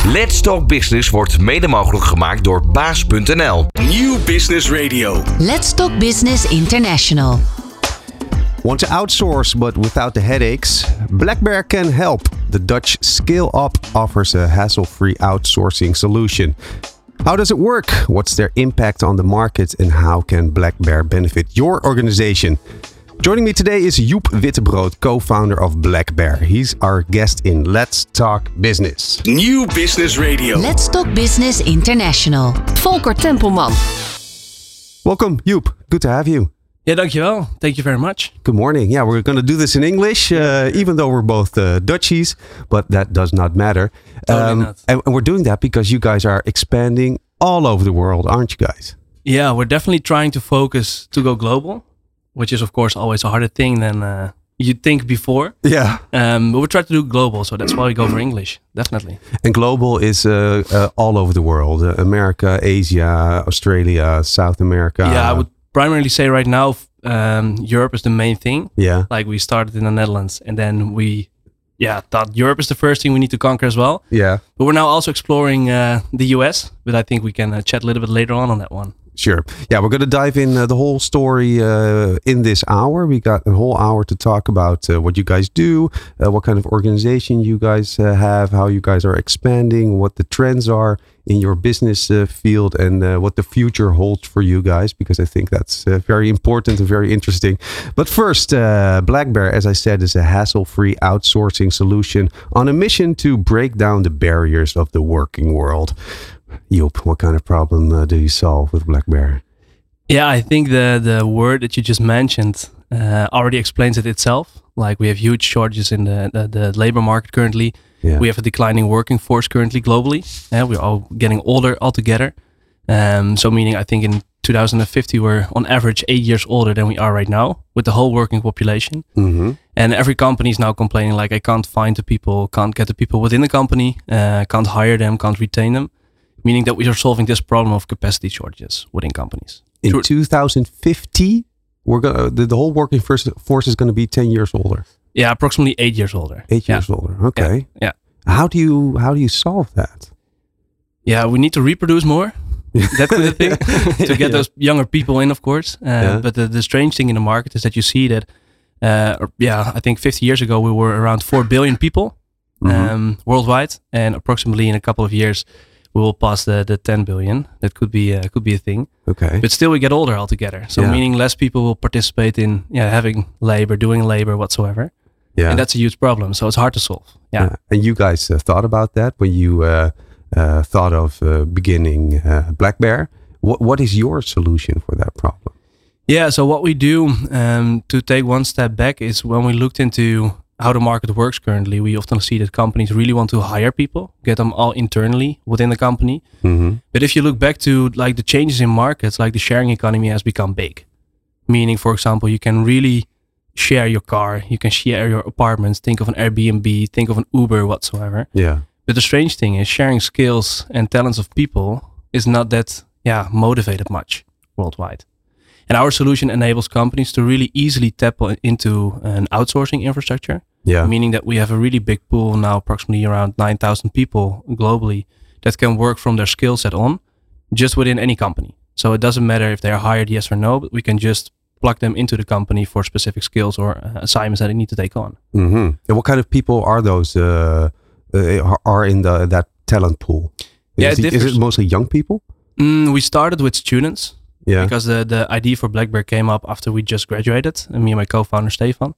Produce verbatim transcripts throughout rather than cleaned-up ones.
Let's Talk Business wordt mede mogelijk gemaakt door baas punt n l. New Business Radio. Let's Talk Business International. Want to outsource but without the headaches? Blackbear can help. The Dutch Scale Up offers a hassle-free outsourcing solution. How does it work? What's their impact on the market? And how can Blackbear benefit your organization? Joining me today is Joep Wittebrood, co-founder of Blackbear. He's our guest in Let's Talk Business. New Business Radio. Let's Talk Business International. Volker Tempelman. Welcome, Joep. Good to have you. Yeah, dankjewel. Thank you very much. Good morning. Yeah, we're going to do this in English, uh, even though we're both uh, Dutchies, but that does not matter. Totally Um, not. and we're doing that because you guys are expanding all over the world, aren't you guys? Yeah, we're definitely trying to focus to go global, which is of course always a harder thing than uh, you think before. Yeah. Um, but we try to do global, so that's why we go for English, definitely. And global is uh, uh, all over the world. Uh, America, Asia, Australia, South America. Yeah, I would primarily say right now um, Europe is the main thing. Yeah. Like we started in the Netherlands and then we yeah, thought Europe is the first thing we need to conquer as well. Yeah. But we're now also exploring uh, the U S, but I think we can uh, chat a little bit later on on that one. Sure. Yeah, we're going to dive in uh, the whole story uh, in this hour. We got a whole hour to talk about uh, what you guys do, uh, what kind of organization you guys uh, have, how you guys are expanding, what the trends are in your business uh, field, and uh, what the future holds for you guys, because I think that's uh, very important and very interesting. But first, uh, Blackbear, as I said, is a hassle-free outsourcing solution on a mission to break down the barriers of the working world. Joep, what kind of problem uh, do you solve with Blackbear? Yeah, I think the the word that you just mentioned uh, already explains it itself. Like we have huge shortages in the, the, the labor market currently. Yeah. We have a declining working force currently globally. Uh, we're all getting older altogether. Um, so meaning I think in two thousand fifty we're on average eight years older than we are right now with the whole working population. Mm-hmm. And every company is now complaining like I can't find the people, can't get the people within the company, uh, can't hire them, can't retain them. Meaning that we are solving this problem of capacity shortages within companies. In Sure. two thousand fifty, we're gonna the, the whole working force, force is going to be ten years older. Yeah, approximately eight years older. Eight Yeah. years older. Okay. Yeah. yeah. How do you how do you solve that? Yeah, we need to reproduce more. That's the thing. to get Yeah. those younger people in, of course. Uh, Yeah. But the, the strange thing in the market is that you see that, uh, or- yeah, I think fifty years ago we were around four billion people um, Mhm. worldwide. And approximately in a couple of years we will pass the, the ten billion. That could be, uh, could be a thing. Okay. But still we get older altogether. So Yeah. meaning less people will participate in yeah, having labor, doing labor whatsoever. Yeah. And that's a huge problem. So it's hard to solve. Yeah. Yeah. And you guys uh, thought about that when you uh, uh, thought of uh, beginning uh, Blackbear. What what is your solution for that problem? Yeah, so what we do um, to take one step back is when we looked into how the market works currently, we often see that companies really want to hire people, get them all internally within the company. Mm-hmm. But if you look back to like the changes in markets, like the sharing economy has become big. Meaning, for example, you can really share your car, you can share your apartments, think of an Airbnb, think of an Uber, whatsoever. Yeah. But the strange thing is sharing skills and talents of people is not that yeah, motivated much worldwide. And our solution enables companies to really easily tap on- into an outsourcing infrastructure, Yeah. meaning that we have a really big pool now, approximately around nine thousand people globally that can work from their skill set on just within any company. So it doesn't matter if they're hired, yes or no, but we can just plug them into the company for specific skills or uh, assignments that they need to take on. Mm-hmm. And what kind of people are those? Uh, uh, are in the that talent pool? Yeah, is, it it, is differs. it mostly young people? Mm, we started with students. Yeah. Because the, the idea for Blackbear came up after we just graduated, and me and my co-founder Stefan.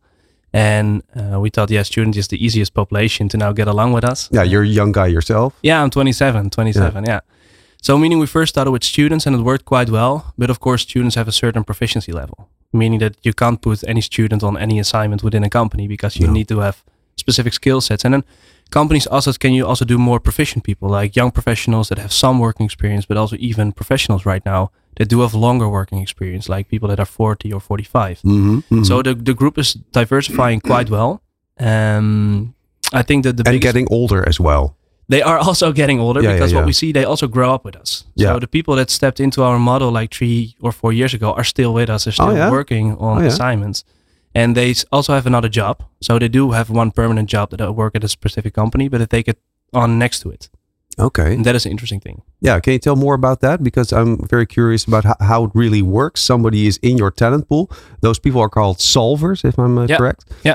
And uh, we thought, yeah, student is the easiest population to now get along with us. Yeah, you're a young guy yourself. Yeah, I'm twenty-seven, twenty-seven, yeah. So meaning we first started with students and it worked quite well. But of course, students have a certain proficiency level, meaning that you can't put any student on any assignment within a company because you No. need to have specific skill sets. And then companies also, can you also do more proficient people, like young professionals that have some working experience, but also even professionals right now that do have longer working experience, like people that are forty or forty-five. Mm-hmm. Mm-hmm. So the, the group is diversifying quite well. Um, I think that the and biggest, getting older as well. they are also getting older Yeah, because yeah, what yeah. we see, they also grow up with us. Yeah. So the people that stepped into our model like three or four years ago are still with us. They're still Oh, yeah? working on Oh, yeah. assignments. And they s- also have another job. So they do have one permanent job that they work at a specific company, but they take it on next to it. Okay. And that is an interesting thing. Yeah. Can you tell more about that? Because I'm very curious about how, how it really works. Somebody is in your talent pool. Those people are called solvers, if I'm uh, Yeah. correct. Yeah.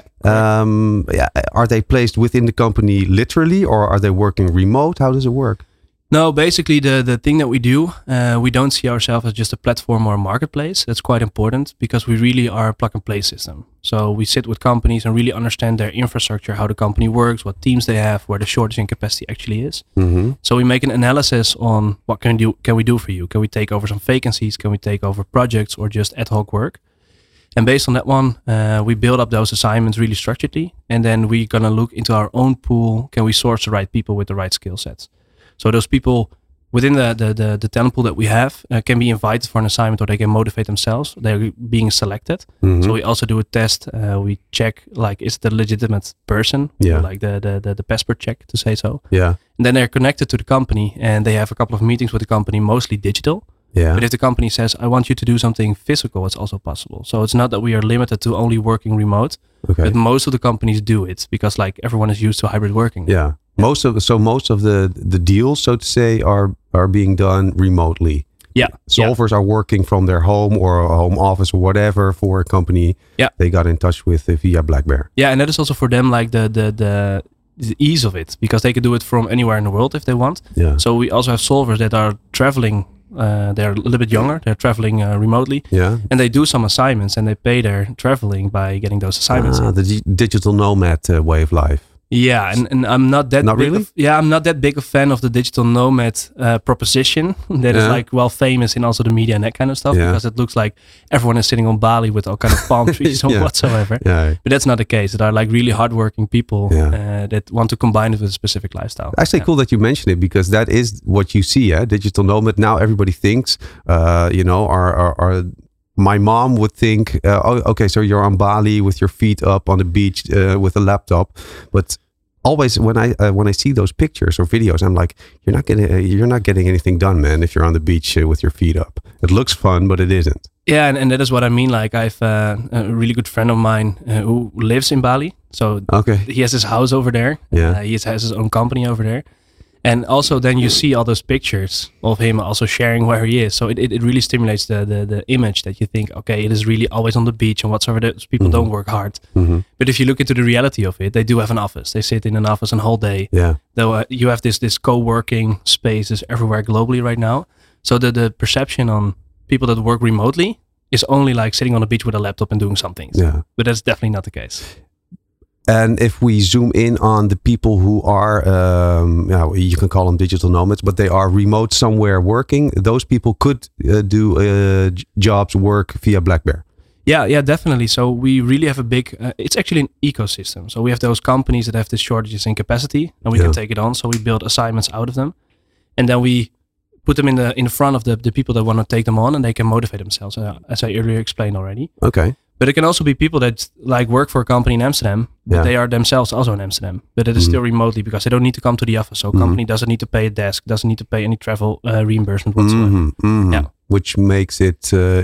Um, yeah. Are they placed within the company literally, or are they working remote? How does it work? No, basically the, the thing that we do, uh, we don't see ourselves as just a platform or a marketplace. That's quite important because we really are a plug and play system. So we sit with companies and really understand their infrastructure, how the company works, what teams they have, where the shortage in capacity actually is. Mm-hmm. So we make an analysis on what can we do, can we do for you? Can we take over some vacancies? Can we take over projects or just ad hoc work? And based on that one, uh, we build up those assignments really structuredly. And then we're going to look into our own pool. Can we source the right people with the right skill sets? So those people within the, the, the, the talent pool that we have uh, can be invited for an assignment, or they can motivate themselves. They're being selected. Mm-hmm. So we also do a test. Uh, we check, like, is it a legitimate person? We Yeah. do like the, the, the, the passport check, to say so. Yeah. And then they're connected to the company and they have a couple of meetings with the company, mostly digital. Yeah. But if the company says, I want you to do something physical, it's also possible. So it's not that we are limited to only working remote, Okay. but most of the companies do it because, like, everyone is used to hybrid working. Yeah. Most of so most of the the deals, so to say, are are being done remotely. Yeah. Solvers are working from their home or a home office or whatever for a company Yeah. they got in touch with uh, via BlackBear. Yeah, and that is also for them like the the the the ease of it, because they can do it from anywhere in the world if they want. Yeah. So we also have solvers that are traveling. Uh, they're a little bit younger. They're traveling uh, remotely, Yeah. and they do some assignments, and they pay their traveling by getting those assignments. Ah, the di- digital nomad uh, way of life. Yeah, and, and I'm not that Not big really? of, yeah, I'm not that big a fan of the digital nomad uh, proposition that is Yeah. like well famous in also the media and that kind of stuff, Yeah. because it looks like everyone is sitting on Bali with all kind of palm trees or Yeah. whatsoever. Yeah. But that's not the case. There are like really hardworking people Yeah. uh, that want to combine it with a specific lifestyle. Actually, Yeah. cool that you mention it, because that is what you see. Eh? Digital nomad. Now everybody thinks, uh, you know, our, our, our my mom would think, uh, oh, okay, so you're on Bali with your feet up on the beach uh, with a laptop. But always when I uh, when I see those pictures or videos, I'm like, you're not getting uh, you're not getting anything done, man. If you're on the beach uh, with your feet up, it looks fun, but it isn't. Yeah, and, and that is what I mean. Like, I've uh, a really good friend of mine uh, who lives in Bali. So Okay. he has his house over there. Yeah. Uh, he has has his own company over there. And also then you see all those pictures of him also sharing where he is. So it, it, it really stimulates the, the the image that you think, okay, it is really always on the beach and whatsoever. Those people Mhm. don't work hard. Mm-hmm. But if you look into the reality of it, they do have an office. They sit in an office a whole day. Yeah. Though uh, you have this this co-working spaces everywhere globally right now. So the, the perception on people that work remotely is only like sitting on a beach with a laptop and doing some things. Yeah. But that's definitely not the case. And if we zoom in on the people who are, um, yeah, you can call them digital nomads, but they are remote somewhere working, those people could uh, do uh, j- jobs, work via BlackBear. Yeah, yeah, definitely. So we really have a big, uh, it's actually an ecosystem. So we have those companies that have the shortages in capacity and we Yeah. can take it on. So we build assignments out of them. And then we put them in the in front of the, the people that want to take them on and they can motivate themselves, uh, as I earlier explained already. Okay. But it can also be people that like work for a company in Amsterdam, but Yeah. they are themselves also in Amsterdam, but it is Mhm. still remotely because they don't need to come to the office. So a Mhm. company doesn't need to pay a desk, doesn't need to pay any travel uh, reimbursement whatsoever. Mhm, mhm. Yeah. Which makes it, uh,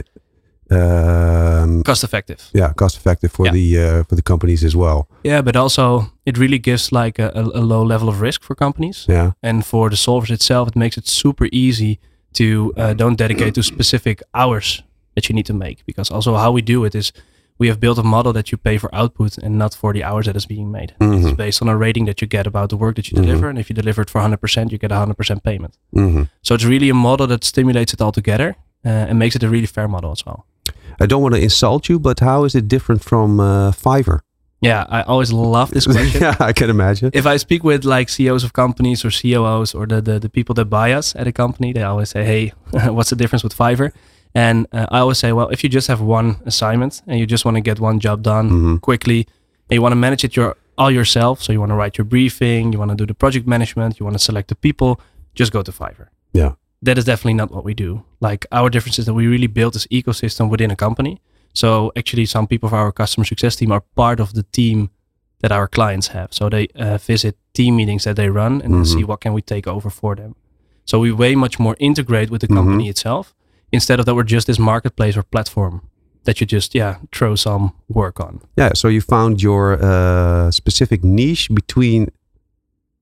um, Cost effective. yeah, cost effective for Yeah. the uh, for the companies as well. Yeah, but also it really gives like a, a, a low level of risk for companies. Yeah. And for the solvers itself, it makes it super easy to uh, don't dedicate to specific hours that you need to make. Because also how we do it is we have built a model that you pay for output and not for the hours that is being made. Mhm. It's based on a rating that you get about the work that you Mhm. deliver. And if you deliver it for one hundred percent, you get one hundred percent payment. Mhm. So it's really a model that stimulates it all together uh, and makes it a really fair model as well. I don't want to insult you, but how is it different from uh, Fiverr? Yeah, I always love this question. Yeah, I can imagine. If I speak with like C E Os of companies or C O Os or the, the, the people that buy us at a company, they always say, hey, what's the difference with Fiverr? And uh, I always say, well, if you just have one assignment and you just want to get one job done Mhm. quickly, and you want to manage it your, all yourself, so you want to write your briefing, you want to do the project management, you want to select the people, just go to Fiverr. Yeah. That is definitely not what we do. Like our difference is that we really build this ecosystem within a company. So actually some people of our customer success team are part of the team that our clients have. So they uh, visit team meetings that they run and Mhm. see what can we take over for them. So we way much more integrate with the company Mhm. itself instead of that we're just this marketplace or platform that you just, yeah, throw some work on. Yeah, so you found your uh, specific niche between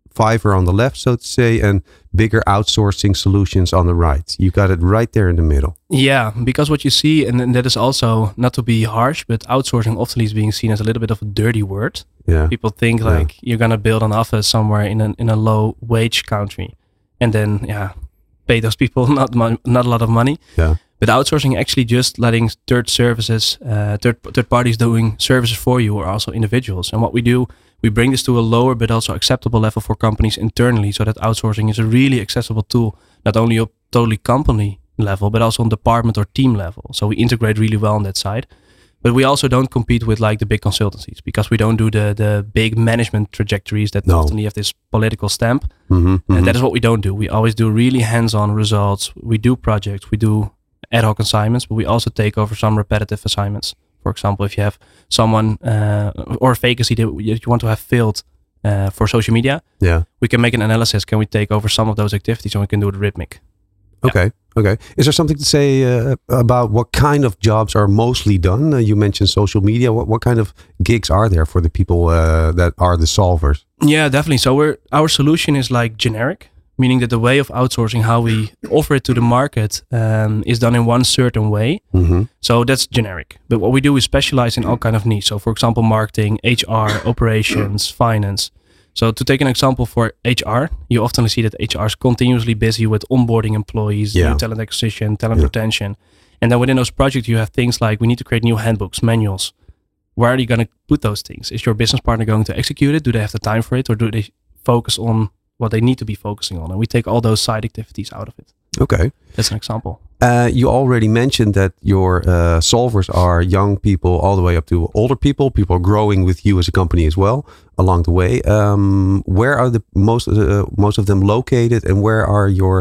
Fiverr on the left, so to say, and bigger outsourcing solutions on the right. You got it right there in the middle. Yeah, because what you see, and, and that is also not to be harsh, but outsourcing often is being seen as a little bit of a dirty word. Yeah. People think Yeah. like you're gonna build an office somewhere in a in a low wage country, and then yeah, pay those people not mon- not a lot of money. Yeah. But outsourcing actually just letting third services, uh, third third parties doing services for you, or also individuals. And what we do, we bring this to a lower but also acceptable level for companies internally, so that outsourcing is a really accessible tool, not only on totally company level, but also on department or team level. So we integrate really well on that side. But we also don't compete with like the big consultancies, because we don't do the the big management trajectories that No. often have this political stamp. Mm-hmm, And mm-hmm. that is what we don't do. We always do really hands-on results. We do projects, we do ad hoc assignments, but we also take over some repetitive assignments. For example, if you have someone uh, or a vacancy that you that you want to have filled uh, for social media, Yeah. we can make an analysis. Can we take over some of those activities, and we can do it rhythmic? Okay. Okay. Is there something to say uh, about what kind of jobs are mostly done? Uh, you mentioned social media. What what kind of gigs are there for the people uh, that are the solvers? Yeah, definitely. So we're our solution is like generic, meaning that the way of outsourcing, how we offer it to the market, um, is done in one certain way. Mm-hmm. So that's generic. But what we do is specialize in all kind of niche. So for example, marketing, H R, operations, finance. So to take an example for H R, you often see that H R is continuously busy with onboarding employees, Yeah. new talent acquisition, talent Yeah. retention. And then within those projects, you have things like we need to create new handbooks, manuals. Where are you going to put those things? Is your business partner going to execute it? Do they have the time for it? Or do they focus on what they need to be focusing on? And we take all those side activities out of it. Okay. That's an example. Uh, you already mentioned that your uh, solvers are young people all the way up to older people. People are growing with you as a company as well along the way. Um, where are the most uh, most of them located, and where are your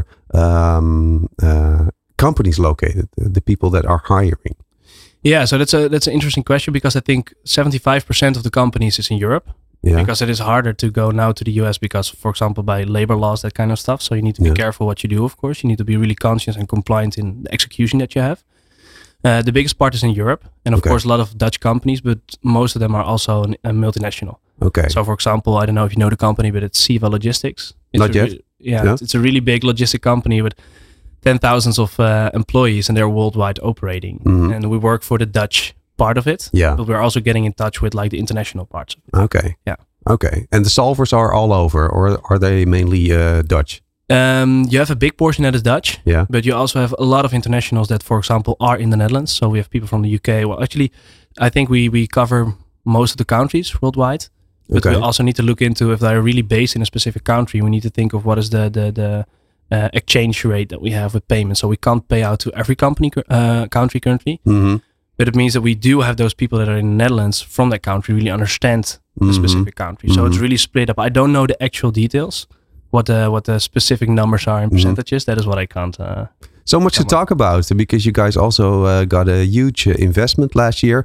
um, uh, companies located? The people that are hiring. Yeah, so that's a that's an interesting question, because I think seventy-five percent of the companies is in Europe. Yeah. Because it is harder to go now to the U S because, for example, by labor laws, that kind of stuff. So you need to be Yeah. careful what you do, of course. You need to be really conscious and compliant in the execution that you have. Uh, the biggest part is in Europe. And of Okay. course, a lot of Dutch companies, but most of them are also an, a multinational. Okay. So for example, I don't know if you know the company, but it's Siva Logistics. It's Not a yet. re- yeah, Yeah. It's, it's a really big logistic company with ten thousands of uh, employees, and they're worldwide operating. Mhm. And we work for the Dutch part of it. Yeah. But we're also getting in touch with like the international parts of it. Okay. Yeah. Okay. And the solvers are all over, or are they mainly uh, Dutch? Um, you have a big portion that is Dutch, Yeah. but you also have a lot of internationals that, for example, are in the Netherlands. So we have people from the U K. Well, actually, I think we we cover most of the countries worldwide. But Okay. we also need to look into if they're really based in a specific country. We need to think of what is the the the uh, exchange rate that we have with payments. So we can't pay out to every company uh, country currently. Mm-hmm. But it means that we do have those people that are in the Netherlands from that country really understand the Mhm. specific country. So Mhm. it's really split up. I don't know the actual details, what the what the specific numbers are in percentages. That is what I can't. Uh, So much to Come on. talk about, because you guys also uh, got a huge uh, investment last year.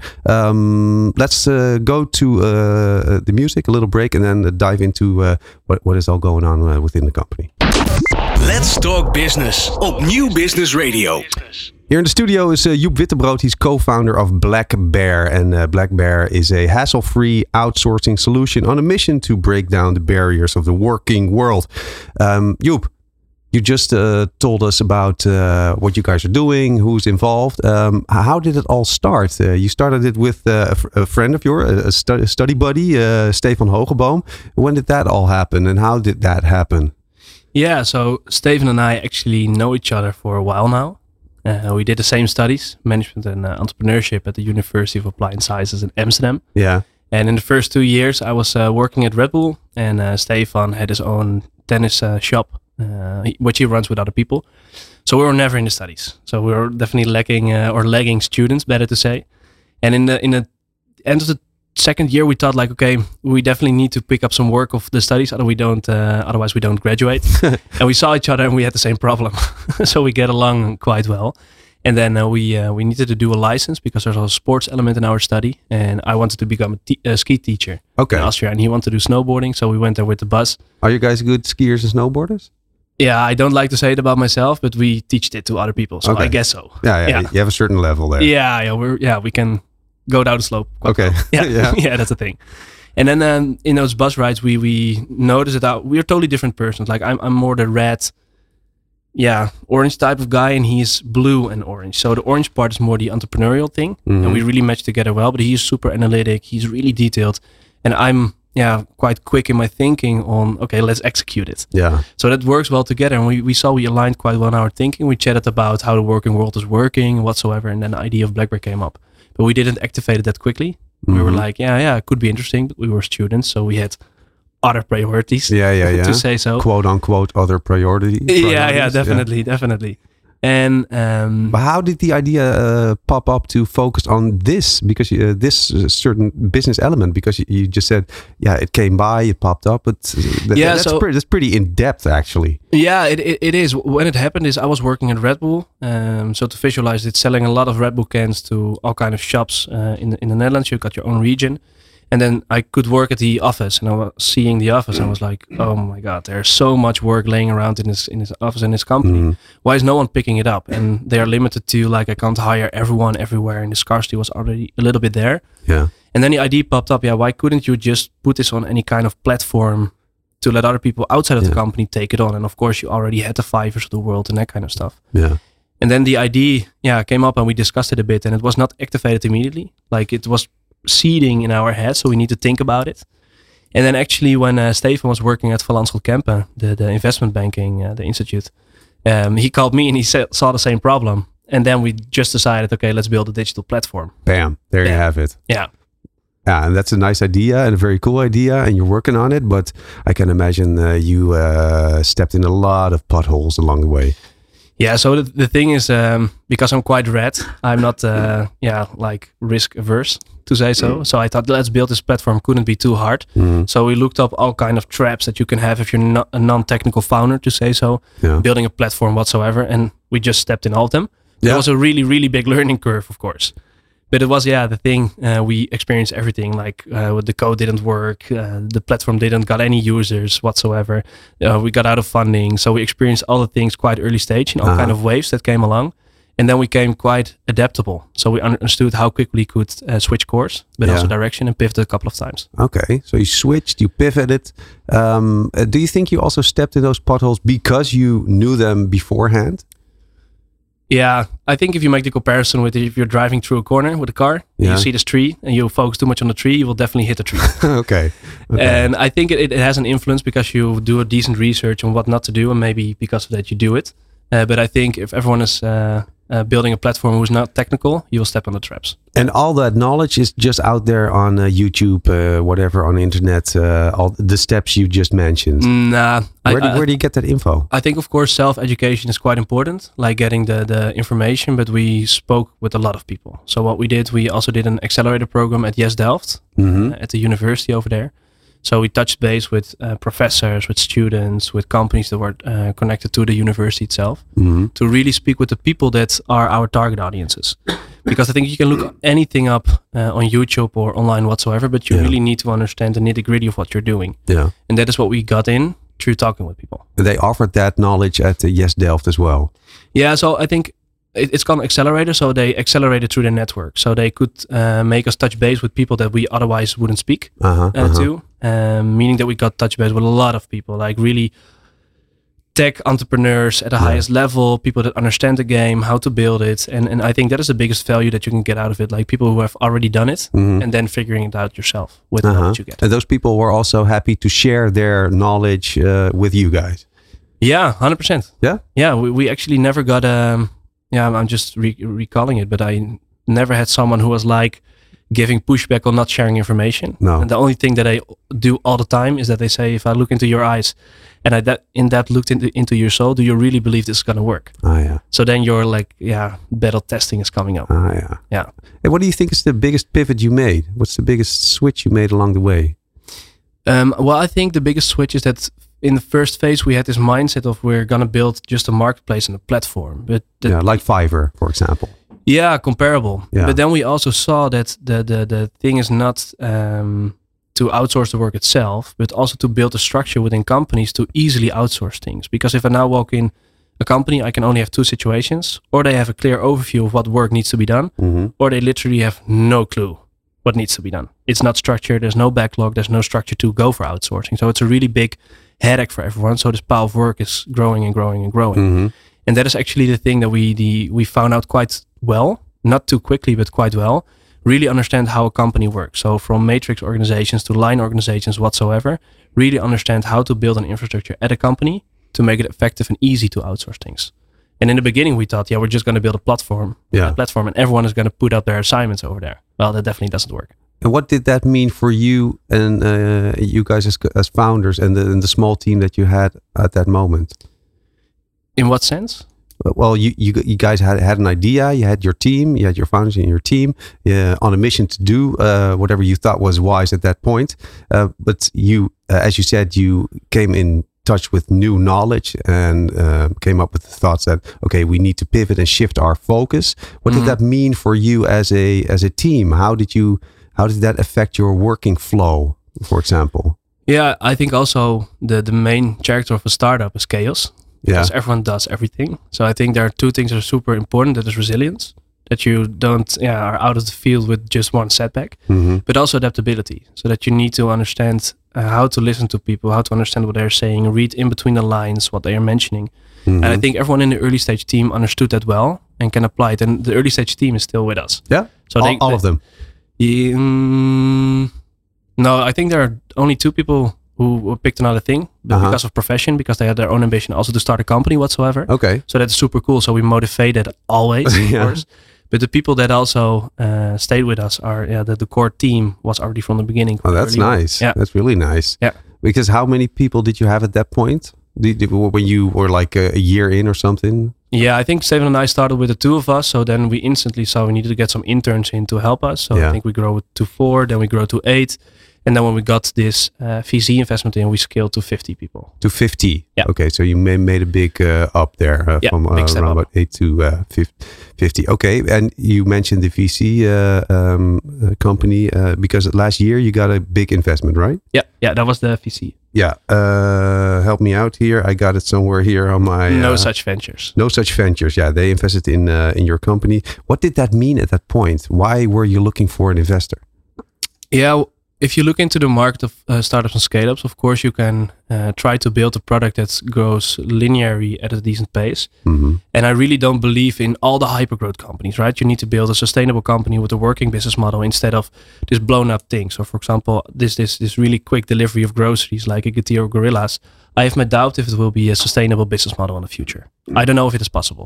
Um, let's uh, go to uh, the music, a little break, and then uh, dive into uh, what, what is all going on uh, within the company. Let's Talk Business op Nieuw Business Radio. Here in the studio is uh, Joep Wittebrood. He's co-founder of Black Bear. And uh, Black Bear is a hassle-free outsourcing solution on a mission to break down the barriers of the working world. Um, Joep, you just uh, told us about uh, what you guys are doing, who's involved. Um, how did it all start? Uh, you started it with uh, a, fr- a friend of yours, a, stu- a study buddy, uh, Stefan Hogeboom. When did that all happen, and how did that happen? yeah, so Steven and I actually know each other for a while now. Uh, we did the same studies, management and uh, entrepreneurship, at the University of Applied Sciences in Amsterdam. Yeah. And in the first two years, I was uh, working at Red Bull, and uh, Stefan had his own tennis uh, shop, uh, he- which he runs with other people. So we were never in the studies. So we were definitely lacking uh, or lagging students, better to say. And in the in the end of the second year, we thought like, okay, we definitely need to pick up some work of the studies, otherwise we don't. Uh, otherwise, we don't graduate. And we saw each other, and we had the same problem. So we get along quite well. And then uh, we uh, we needed to do a license because there's a sports element in our study. And I wanted to become a, te- a ski teacher Okay. in Austria, and he wanted to do snowboarding. So we went there with the bus. Are you guys good skiers and snowboarders? Yeah, I don't like to say it about myself, but we teach it to other people. So Okay. I guess so. Yeah, yeah, Yeah. You have a certain level there. Yeah, yeah, we're yeah we can go down the slope. quite Okay. well. Yeah, Yeah. yeah, that's the thing. And then um, in those bus rides, we we noticed that we're totally different persons. Like I'm I'm more the red, yeah, orange type of guy, and he's blue and orange. So the orange part is more the entrepreneurial thing, Mhm. and we really match together well. But he's super analytic. He's really detailed, and I'm yeah quite quick in my thinking on okay, let's execute it. Yeah. So that works well together, and we, we saw we aligned quite well in our thinking. We chatted about how the working world is working whatsoever, and then the idea of BlackBerry came up. But we didn't activate it that quickly. We were Mhm. like, yeah, yeah, it could be interesting, but we were students, so we had other priorities, Yeah, yeah, yeah. to say so. Quote unquote other priority. Yeah, yeah, priorities, definitely, definitely. And um, But how did the idea uh, pop up to focus on this? Because uh, this uh, certain business element. Because you, you just said, yeah, it came by, it popped up. But uh, that, Yeah, that's so- pretty. That's pretty in depth, actually. yeah, it, it it is. When it happened, is I was working at Red Bull. Um, so to visualize it, selling a lot of Red Bull cans to all kind of shops uh, in the, in the Netherlands. You got your own region. And then I could work at the office, and I was seeing the office, and I was like, "Oh my God, there's so much work laying around in this in this office in this company. Mhm. Why is no one picking it up?" And they are limited to like I can't hire everyone everywhere, and the scarcity was already a little bit there. Yeah. And then the idea popped up: yeah, why couldn't you just put this on any kind of platform to let other people outside of Yeah. the company take it on? And of course, you already had the Fivers of the world and that kind of stuff. Yeah. And then the idea, yeah, came up, and we discussed it a bit, and it was not activated immediately. Like it was seeding in our head, so we need to think about it. And then actually when uh, Stefan was working at Van Lanschot Kempen, the, the investment banking, uh, the institute, um, he called me and he sa- saw the same problem. And then we just decided, okay, let's build a digital platform. Bam. There you Yeah. have it. Yeah. Yeah, and that's a nice idea and a very cool idea, and you're working on it. But I can imagine uh, you uh, stepped in a lot of potholes along the way. Yeah, so the, the thing is, um, because I'm quite red, I'm not, uh, yeah, like risk averse, to say so. So I thought, let's build this platform, couldn't be too hard. Mhm. So we looked up all kind of traps that you can have if you're not a non-technical founder, to say so, Yeah. building a platform whatsoever. And we just stepped in all of them. Yeah. It was a really, really big learning curve, of course. But it was, yeah, the thing, uh, we experienced everything, like uh, the code didn't work, uh, the platform didn't got any users whatsoever. Uh, we got out of funding. So we experienced all the things quite early stage in all Uh-huh. kind of waves that came along. And then we came quite adaptable. So we understood how quickly we could uh, switch course, but Yeah. also direction, and pivoted a couple of times. Okay, so you switched, you pivoted. Um, uh, do you think you also stepped in those potholes because you knew them beforehand? Yeah, I think if you make the comparison with if you're driving through a corner with a car, and Yeah. you see this tree and you focus too much on the tree, you will definitely hit the tree. okay. okay. And I think it, it has an influence because you do a decent research on what not to do, and maybe because of that you do it. Uh, but I think if everyone is uh, uh, building a platform who's not technical, you will step on the traps. And all that knowledge is just out there on uh, YouTube, uh, whatever, on the internet, uh, all the steps you just mentioned. Nah, Where, I, do, I, where do you get that info? I think, of course, self-education is quite important, like getting the, the information, but we spoke with a lot of people. So what we did, we also did an accelerator program at Yes Delft, Mhm. uh, at the university over there. So we touched base with uh, professors, with students, with companies that were uh, connected to the university itself, Mhm. to really speak with the people that are our target audiences. Because I think you can look anything up uh, on YouTube or online whatsoever, but you Yeah. really need to understand the nitty-gritty of what you're doing. Yeah. And that is what we got in through talking with people. And they offered that knowledge at uh, Yes Delft as well. Yeah, so I think it, it's called accelerator. So they accelerated through their network. So they could uh, make us touch base with people that we otherwise wouldn't speak Uh-huh, uh, uh-huh. to. Um, meaning that we got touch base with a lot of people, like really tech entrepreneurs at the Yeah. highest level, people that understand the game, how to build it. And, and I think that is the biggest value that you can get out of it. Like people who have already done it Mhm. and then figuring it out yourself with the Uh-huh. knowledge you get. And those people were also happy to share their knowledge uh, with you guys. Yeah, one hundred percent. Yeah? Yeah, we, we actually never got, um, yeah, I'm- I'm just re- recalling it, but I never had someone who was like giving pushback on not sharing information. No. And the only thing that I do all the time is that they say, if I look into your eyes and I that in that looked into, into your soul, do you really believe this is going to work? Ah, yeah. So then you're like, yeah, battle testing is coming up. Ah, yeah. Yeah. And what do you think is the biggest pivot you made? What's the biggest switch you made along the way? Um, well, I think the biggest switch is that in the first phase, we had this mindset of we're going to build just a marketplace and a platform. But the, Yeah, like Fiverr, for example. Yeah, comparable. Yeah. But then we also saw that the the the thing is not um, to outsource the work itself, but also to build a structure within companies to easily outsource things. Because if I now walk in a company, I can only have two situations: or they have a clear overview of what work needs to be done, Mhm. or they literally have no clue what needs to be done. It's not structured. There's no backlog. There's no structure to go for outsourcing. So it's a really big headache for everyone. So this pile of work is growing and growing and growing. Mm-hmm. And that is actually the thing that we the we found out quite well, not too quickly, but quite well. Really understand how a company works. So from matrix organizations to line organizations whatsoever, really understand how to build an infrastructure at a company to make it effective and easy to outsource things. And in the beginning, we thought, yeah, we're just going to build a platform, yeah. a platform, and everyone is going to put up their assignments over there. Well, that definitely doesn't work. And what did that mean for you and uh, you guys as, as founders and the, and the small team that you had at that moment? In what sense? Well, you, you you guys had had an idea. You had your team. You had your founders and your team uh, on a mission to do uh, whatever you thought was wise at that point. Uh, but you, uh, as you said, you came in touch with new knowledge and uh, came up with the thoughts that okay, we need to pivot and shift our focus. What mm-hmm. did that mean for you as a as a team? How did you how did that affect your working flow, for example? Yeah, I think also the the main character of a startup is chaos. Because yeah. everyone does everything. So I think there are two things that are super important. That is resilience. That you don't yeah, are out of the field with just one setback. Mm-hmm. But also adaptability. So that you need to understand uh, how to listen to people, how to understand what they're saying, read in between the lines what they are mentioning. Mm-hmm. And I think everyone in the early stage team understood that well and can apply it. And the early stage team is still with us. Yeah? So all, they, all they, of them? Yeah, um, no, I think there are only two people who picked another thing but uh-huh. because of profession, because they had their own ambition also to start a company whatsoever. Okay. So that's super cool. So we motivated always, of yeah. course. But the people that also uh, stayed with us are, yeah, the, the core team was already from the beginning. Oh, that's nice. Yeah. That's really nice. Yeah. Because how many people did you have at that point? Did, did, when you were like a, a year in or something? Yeah, I think Steven and I started with the two of us. So then we instantly saw we needed to get some interns in to help us. So yeah. I think we grow to four, then we grow to eight. And then when we got this uh, V C investment in, we scaled to fifty people. To fifty? Yeah. Okay, so you may, made a big uh, up there uh, yeah, from uh, around about eight to uh, fifty. Okay, and you mentioned the V C uh, um, uh, company uh, because last year you got a big investment, right? Yeah, yeah, that was the V C. Yeah, uh, help me out here. I got it somewhere here on my... No uh, Such Ventures. No Such Ventures, yeah. They invested in uh, in your company. What did that mean at that point? Why were you looking for an investor? Yeah, if you look into the market of uh, startups and scale-ups, of course you can uh, try to build a product that grows linearly at a decent pace. Mm-hmm. And I really don't believe in all the hypergrowth companies, right? You need to build a sustainable company with a working business model instead of this blown up thing. So for example, this this this really quick delivery of groceries like a Getir or Gorillas, I have my doubt if it will be a sustainable business model in the future. Mm-hmm. I don't know if it is possible.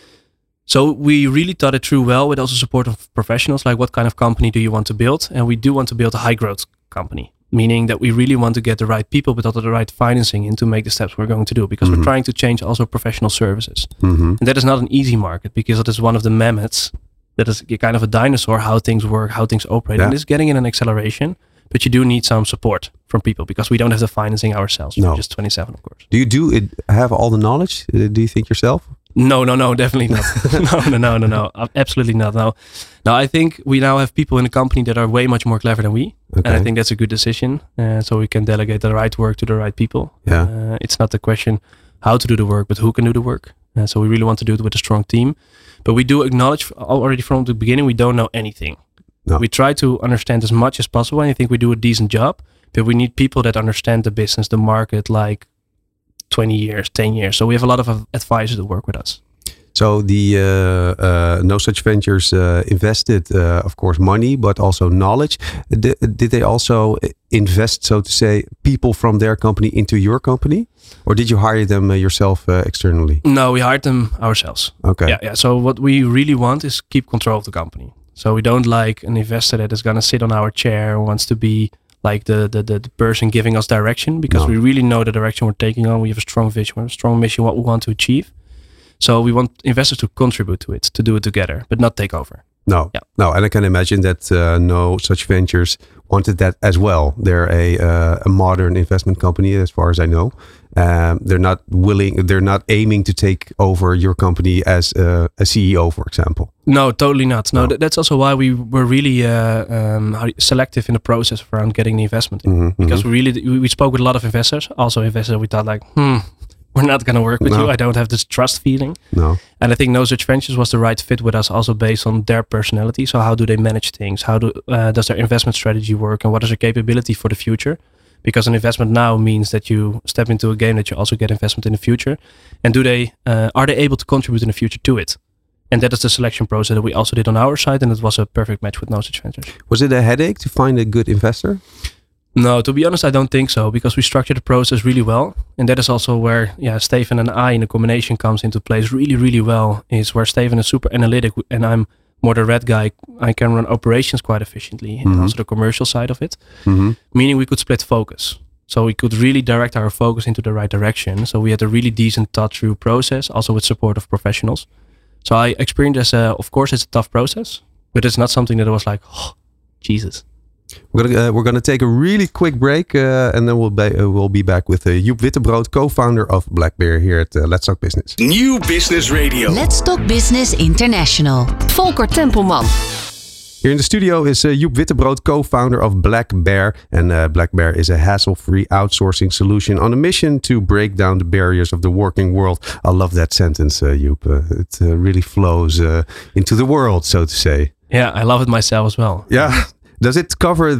So we really thought it through well with also support of professionals, like what kind of company do you want to build? And we do want to build a high growth company, meaning that we really want to get the right people, but also the right financing in to make the steps we're going to do, because mm-hmm. we're trying to change also professional services. Mm-hmm. And that is not an easy market, because it is one of the mammoths that is kind of a dinosaur, how things work, how things operate. Yeah. And it's getting in an acceleration, but you do need some support from people because we don't have the financing ourselves. No. We're just twenty-seven, of course. Do you do it, have all the knowledge? Uh, do you think yourself? No, no, no, definitely not. no, no, no, no, no, absolutely not. No, no. I think we now have people in the company that are way much more clever than we, okay. and I think that's a good decision. Uh, so we can delegate the right work to the right people. Yeah, uh, it's not the question how to do the work, but who can do the work. Uh, so we really want to do it with a strong team, but we do acknowledge already from the beginning we don't know anything. No. We try to understand as much as possible, and I think we do a decent job. But we need people that understand the business, the market, like twenty years, ten years. So we have a lot of advisors that work with us. So the uh, uh, No Such Ventures uh, invested, uh, of course, money, but also knowledge. D- did they also invest, so to say, people from their company into your company? Or did you hire them uh, yourself uh, externally? No, we hired them ourselves. Okay. Yeah, yeah. So what we really want is keep control of the company. So we don't like an investor that is going to sit on our chair and wants to be like the, the, the, the person giving us direction, because no. we really know the direction we're taking on. We have a strong vision, we have a strong mission, what we want to achieve. So we want investors to contribute to it, to do it together, but not take over. No, yeah. no, and I can imagine that uh, No Such Ventures wanted that as well. They're a uh, a modern investment company, as far as I know. Um, they're not willing, they're not aiming to take over your company as uh, a C E O, for example. No, totally not. No, no. Th- that's also why we were really uh, um, how, selective in the process around getting the investment in. Mm-hmm, because mm-hmm. we really we, we spoke with a lot of investors, also investors we thought like, hmm, we're not going to work with No. you. I don't have this trust feeling. No. And I think No Such Ventures was the right fit with us, also based on their personality. So how do they manage things? How do uh, does their investment strategy work, and what is their capability for the future? Because an investment now means that you step into a game that you also get investment in the future. And do they uh, are they able to contribute in the future to it? And that is the selection process that we also did on our side, and it was a perfect match with No Such Ventures. Was it a headache to find a good investor? No, to be honest, I don't think so, because we structured the process really well. And that is also where, yeah, Steven and I in the combination comes into place really, really well, is where Steven is super analytic and I'm more the red guy. I can run operations quite efficiently Mm-hmm. and also the commercial side of it, Mm-hmm. meaning we could split focus. So we could really direct our focus into the right direction. So we had a really decent thought-through process, also with support of professionals. So I experienced as a, of course, it's a tough process, but it's not something that was like, oh, Jesus. We're gonna uh, we're gonna take a really quick break, uh, and then we'll be uh, we'll be back with uh, Joep Wittebrood, co-founder of Black Bear, here at uh, Let's Talk Business. New Business Radio. Let's Talk Business International. Volker Tempelman. Here in the studio is uh, Joep Wittebrood, co-founder of Black Bear, and uh, Black Bear is a hassle-free outsourcing solution on a mission to break down the barriers of the working world. I love that sentence, uh, Joep. Uh, it uh, really flows uh, into the world, so to say. Yeah, I love it myself as well. Yeah. Does it cover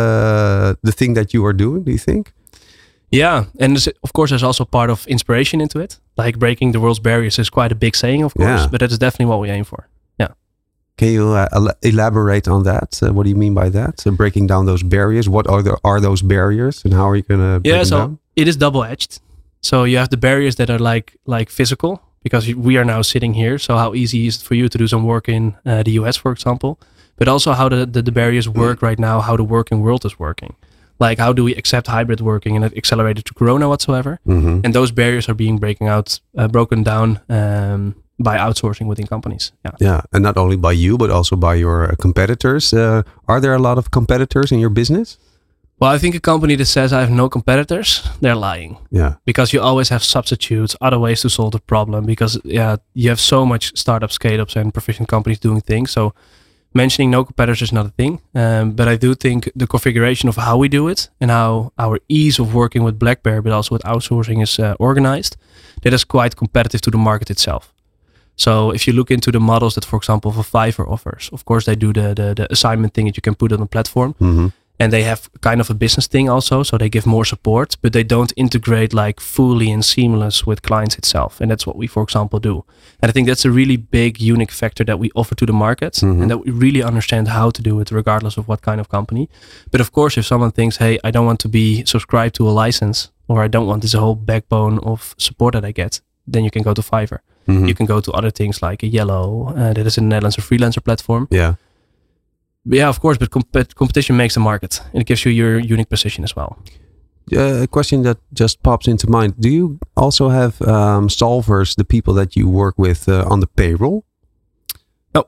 the the thing that you are doing, do you think? Yeah, and there's- of course, there's also part of inspiration into it. Like breaking the world's barriers is quite a big saying, of course, Yeah. but that is definitely what we aim for. Yeah. Can you uh, el- elaborate on that? Uh, what do you mean by that? So breaking down those barriers. What are the, are those barriers, and how are you going to break Yeah, them so down? it is double-edged. So you have the barriers that are like like physical, because you- we are now sitting here. So how easy is it for you to do some work in uh, the U S, for example? But also how the, the, the barriers work right now, how the working world is working. Like how do we accept hybrid working and it accelerated to Corona whatsoever? Mhm. And those barriers are being breaking out, uh, broken down um, by outsourcing within companies. Yeah. Yeah, and not only by you, but also by your uh, competitors. Uh, are there a lot of competitors in your business? Well, I think a company that says I have no competitors, they're lying. Yeah. Because you always have substitutes, other ways to solve the problem. Because yeah, you have so much startups, scale-ups, and proficient companies doing things. So mentioning no competitors is not a thing. Um, but I do think the configuration of how we do it and how our ease of working with Black Bear, but also with outsourcing, is uh, organized, that is quite competitive to the market itself. So if you look into the models that, for example, for Fiverr offers, of course they do the the, the assignment thing that you can put on the platform. Mhm. And they have kind of a business thing also, so they give more support, but they don't integrate like fully and seamless with clients itself. And that's what we, for example, do. And I think that's a really big, unique factor that we offer to the market, Mhm. and that we really understand how to do it, regardless of what kind of company. But of course, if someone thinks, hey, I don't want to be subscribed to a license, or I don't want this whole backbone of support that I get, then you can go to Fiverr. Mhm. You can go to other things like a Yellow, uh, that is in the Netherlands a freelancer platform. Yeah. But yeah, of course, but comp- competition makes the market, and it gives you your unique position as well. Uh, a question that just pops into mind. Do you also have um, solvers, the people that you work with uh, on the payroll? No.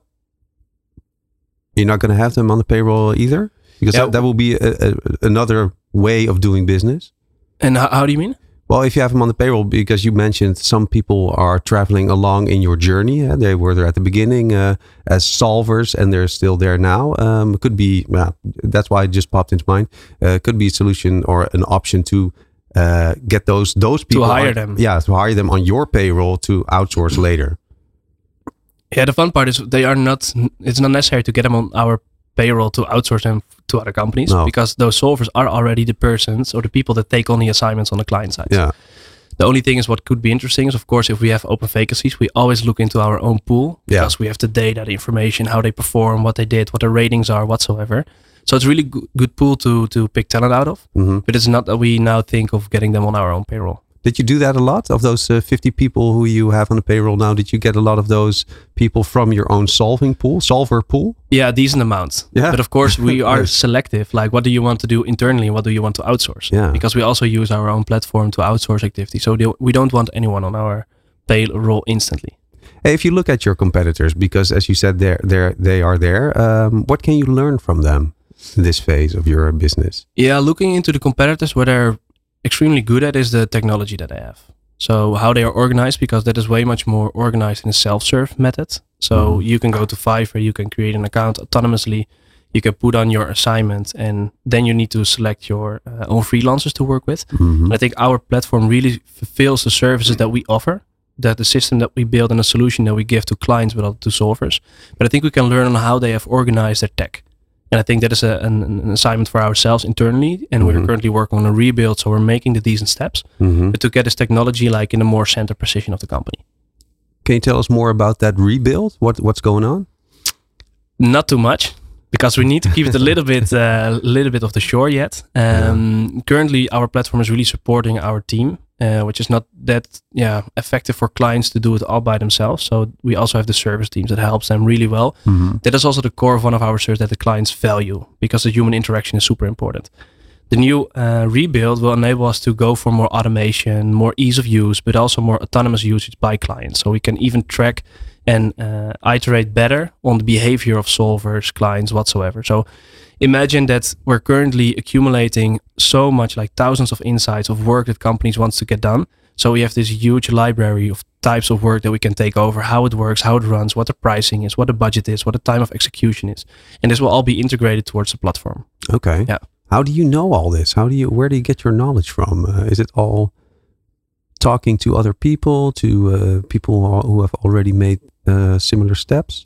You're not going to have them on the payroll either? Because Yeah. that, that will be a, a, another way of doing business. And how, how do you mean? Well, if you have them on the payroll, because you mentioned some people are traveling along in your journey. Uh, they were there at the beginning uh, as solvers, and they're still there now. Um, it could be, well, that's why it just popped into mind. Uh, could be a solution or an option to uh, get those those people hire on- them. Yeah, to hire them on your payroll to outsource later. Yeah, the fun part is they are not. It's not necessary to get them on our payroll to outsource them to other companies, No. because those solvers are already the persons or the people that take on the assignments on the client side. Yeah. The only thing is what could be interesting is, of course, if we have open vacancies, we always look into our own pool, Yeah. because we have the data, the information, how they perform, what they did, what the ratings are, whatsoever. So it's really go- good pool to to pick talent out of. Mhm. But it's not that we now think of getting them on our own payroll. Did you do that a lot? Of those uh, fifty people who you have on the payroll now, did you get a lot of those people from your own solving pool, solver pool? Yeah, a decent amount. Yeah. But of course, we are Yes. selective. Like, what do you want to do internally? What do you want to outsource? Yeah. Because we also use our own platform to outsource activities. So the- we don't want anyone on our payroll instantly. Hey, if you look at your competitors, because as you said, they're, they're, they are there, um, what can you learn from them in this phase of your business? Yeah, looking into the competitors, what they're extremely good at is the technology that they have. So how they are organized, because that is way much more organized in a self-serve method. So Mhm. you can go to Fiverr, you can create an account autonomously. You can put on your assignment, and then you need to select your uh, own freelancers to work with. Mm-hmm. And I think our platform really fulfills the services that we offer, that the system that we build and the solution that we give to clients, but also to solvers. But I think we can learn on how they have organized their tech. And I think that is a, an, an assignment for ourselves internally. And Mm-hmm. we're currently working on a rebuild. So we're making the decent steps, Mm-hmm. but to get this technology like in a more center position of the company. Can you tell us more about that rebuild? What What's going on? Not too much, because we need to keep it a little bit, a uh, little bit off the shore yet. Um, yeah. Currently, our platform is really supporting our team, uh, which is not that yeah effective for clients to do it all by themselves. So we also have the service teams that helps them really well. Mm-hmm. That is also the core of one of our services that the clients value, because the human interaction is super important. The new uh, rebuild will enable us to go for more automation, more ease of use, but also more autonomous usage by clients. So we can even track and uh, iterate better on the behavior of solvers, clients, whatsoever. So imagine that we're currently accumulating so much, like thousands of insights of work that companies want to get done. So we have this huge library of types of work that we can take over, how it works, how it runs, what the pricing is, what the budget is, what the time of execution is. And this will all be integrated towards the platform. Okay. Yeah. How do you know all this? How do you? Where do you get your knowledge from? Uh, is it all talking to other people, to uh, people who have already made uh, similar steps?